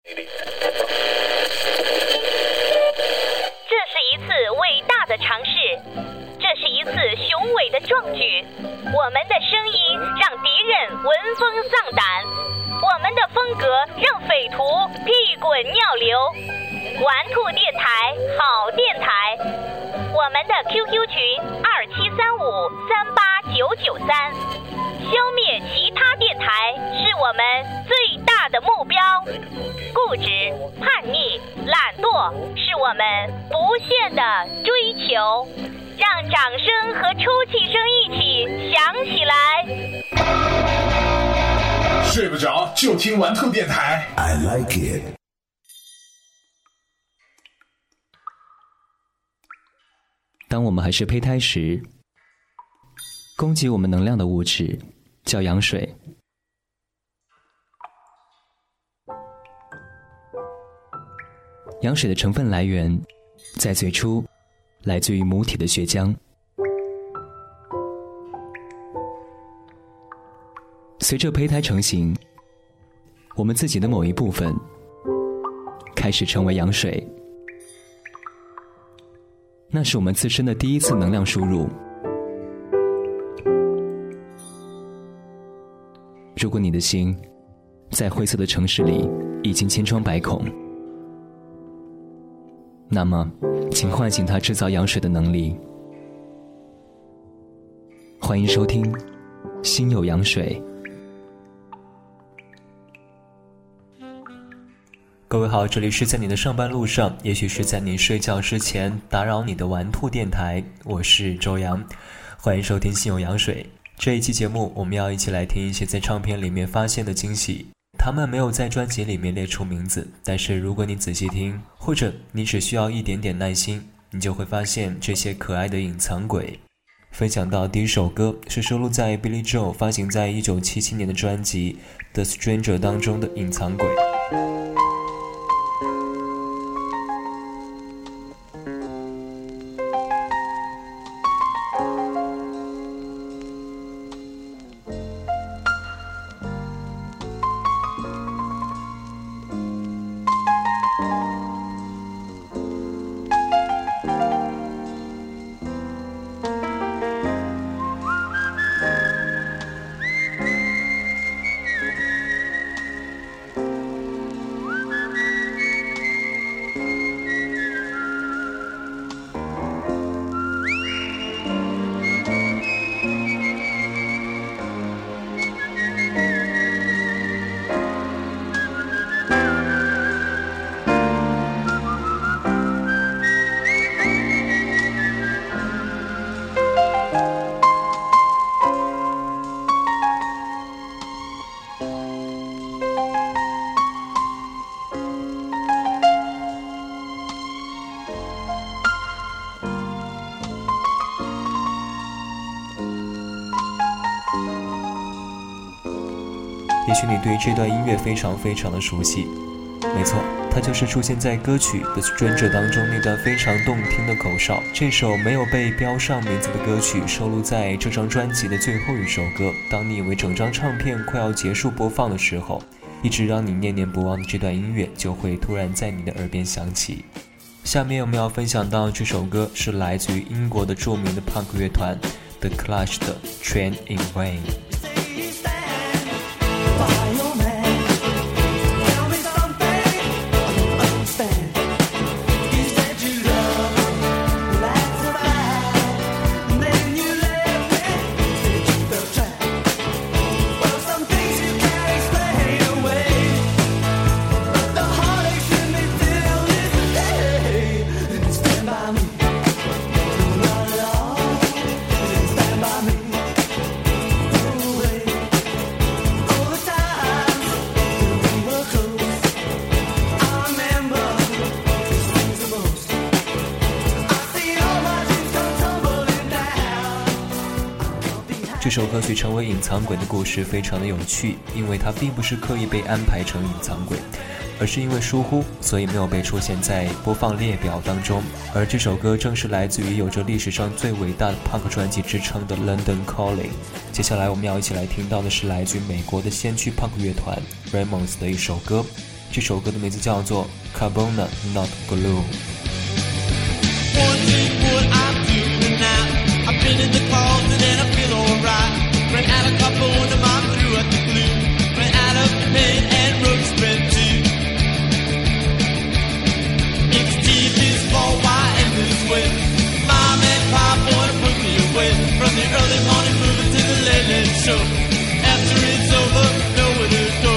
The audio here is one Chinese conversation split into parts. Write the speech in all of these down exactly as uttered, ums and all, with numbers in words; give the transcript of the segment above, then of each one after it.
这是一次伟大的尝试，这是一次雄伟的壮举。我们的声音让敌人闻风丧胆，我们的风格让匪徒屁滚尿流。玩兔电台，好电台。我们的 Q Q 群二七三五三八九九三，消灭其他电台是我们最大的目标。固执、叛逆、懒惰是我们不懈的追求。让掌声和出气声一起响起来。 睡不着就听玩兔电台。 I like it。 当我们还是胚胎时，供给我们能量的物质叫羊水。羊水的成分来源在最初来自于母体的血浆，随着胚胎成型，我们自己的某一部分开始成为羊水。那是我们自身的第一次能量输入。如果你的心在灰色的城市里已经千疮百孔，那么请唤醒它制造羊水的能力。欢迎收听心有羊水。 各位好，这里是在你的上班路上，也许是在你睡觉之前打扰你的玩兔电台，我是周洋，欢迎收听心有羊水。这一期节目我们要一起来听一些在唱片里面发现的惊喜，他们没有在专辑里面列出名字，但是如果你仔细听，或者你只需要一点点耐心，你就会发现这些可爱的隐藏鬼。分享到第一首歌是收录在 Billy Joel 发行在一九七七年的专辑 The Stranger 当中的隐藏鬼。也许你对这段音乐非常非常的熟悉，没错，它就是出现在歌曲 The Stranger 当中那段非常动听的口哨。这首没有被标上名字的歌曲收录在这张专辑的最后一首歌。当你以为整张唱片快要结束播放的时候，一直让你念念不忘的这段音乐就会突然在你的耳边响起。下面我们要分享到这首歌是来自于英国的著名的 punk 乐团 The Clash 的 Train in Vain。这首歌曲成为隐藏鬼的故事非常的有趣，因为它并不是刻意被安排成隐藏鬼，而是因为疏忽，所以没有被出现在播放列表当中。而这首歌正是来自于有着历史上最伟大的 punk 专辑之称的 London Calling。 接下来我们要一起来听到的是来自于美国的先驱 punk 乐团 Ramones 的一首歌， 这首歌的名字叫做 Carbona Not Glue。 I've been in the closet and I feel alright. Ran out of carbona, mom threw out the glue. Ran out of paint and road spread too. It's T V's fault, why am this way? Mom and Pop wanna put me away. From the early morning movie to the late late show. After it's over, nowhere to go.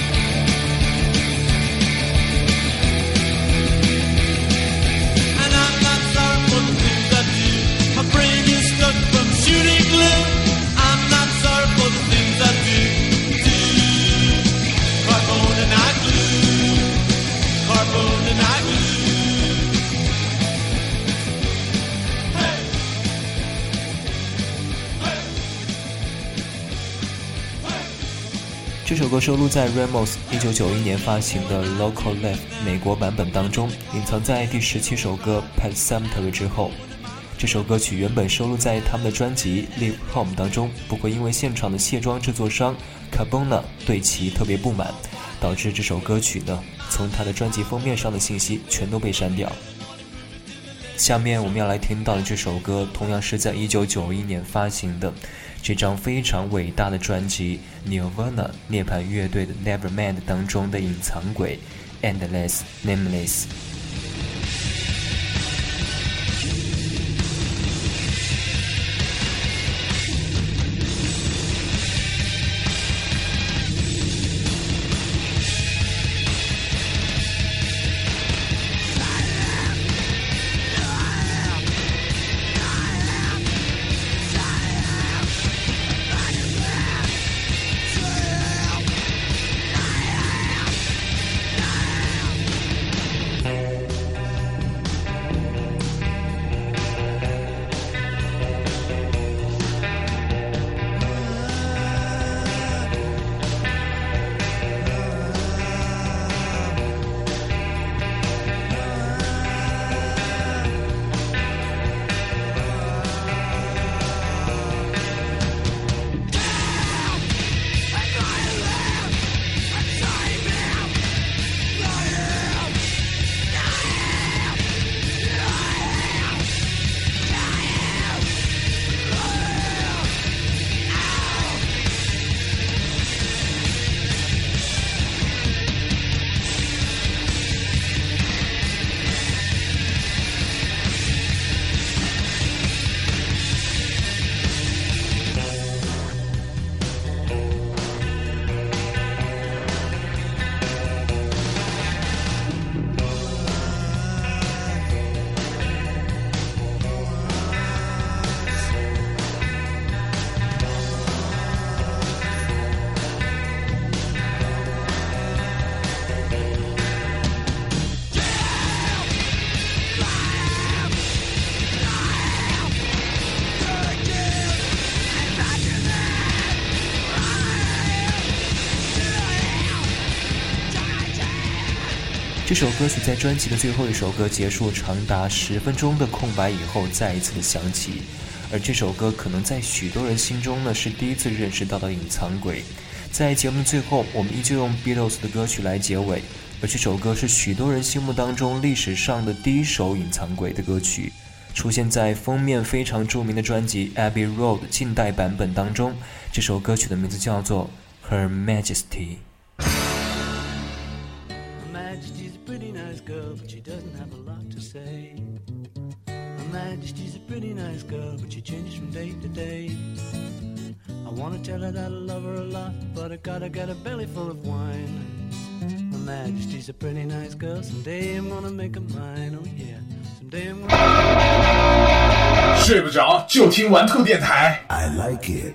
And I'm not sorry for the things I do. My brain is stuck from shooting glue. I'm not sorry for the things I do. Do carbona not glue. Carbona not glue. Hey. Hey. Hey. 这首歌收录在 Ramos 一九九一年发行的 Local Life 美国版本当中，隐藏在第十七首歌 Pet Sematary 之后。这首歌曲原本收录在他们的专辑 Live Home 当中，不过因为现场的卸妆制作商 Carbona 对其特别不满，导致这首歌曲呢从他的专辑封面上的信息全都被删掉。下面我们要来听到的这首歌同样是在一九九一年发行的这张非常伟大的专辑 Nirvana 涅槃乐队的 Nevermind 当中的隐藏轨 Endless Nameless。 这首歌曲在专辑的最后一首歌结束长达十分钟的空白以后再一次的响起，而这首歌可能在许多人心中呢是第一次认识到的隐藏轨。在节目的最后，我们依旧用 Beatles 的歌曲来结尾，而这首歌是许多人心目当中历史上的第一首隐藏轨的歌曲，出现在封面非常著名的专辑 Abbey Road 近代版本当中。这首歌曲的名字叫做 Her Majesty。Her Majesty's a pretty nice girl, but she changes from day to day. I wanna tell her that I love her a lot, but I gotta get a belly full of wine. Her Majesty's a pretty nice girl, someday I'm gonna make her mine, oh yeah, someday I'm gonna... 睡不着就听玩兔电台 I like it.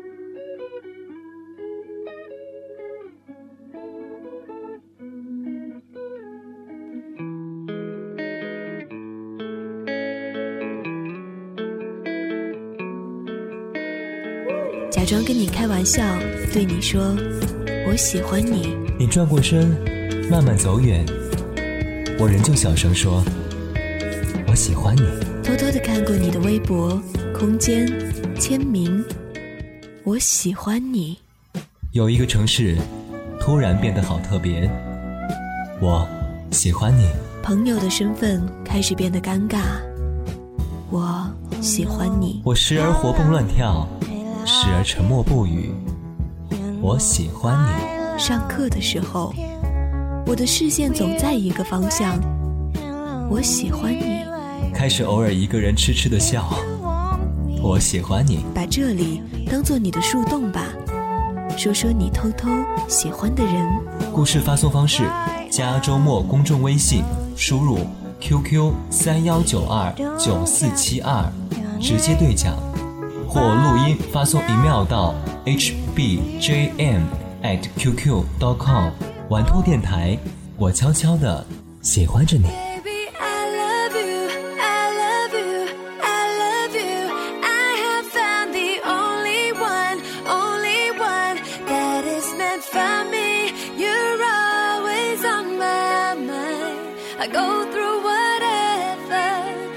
假装跟你开玩笑，对你说我喜欢你。 你转过身，慢慢走远，我仍旧小声说我喜欢你。 偷偷地看过你的微博、空间、签名，我喜欢你。 有一个城市突然变得好特别， 我喜欢你。 朋友的身份开始变得尴尬。我喜欢你。 我时而活蹦乱跳，时而沉默不语。我喜欢你。 上课的时候，我的视线总在一个方向。我喜欢你。 开始偶尔一个人痴痴的笑。我喜欢你。 把这里当作你的树洞吧，说说你偷偷喜欢的人。 故事发送方式：加周末公众微信，输入 Q Q 三幺九二九四七二，直接对讲，或录音发送 email 到 h b j m at q q dot com。玩兔电台，我悄悄地喜欢着你。 I go through whatever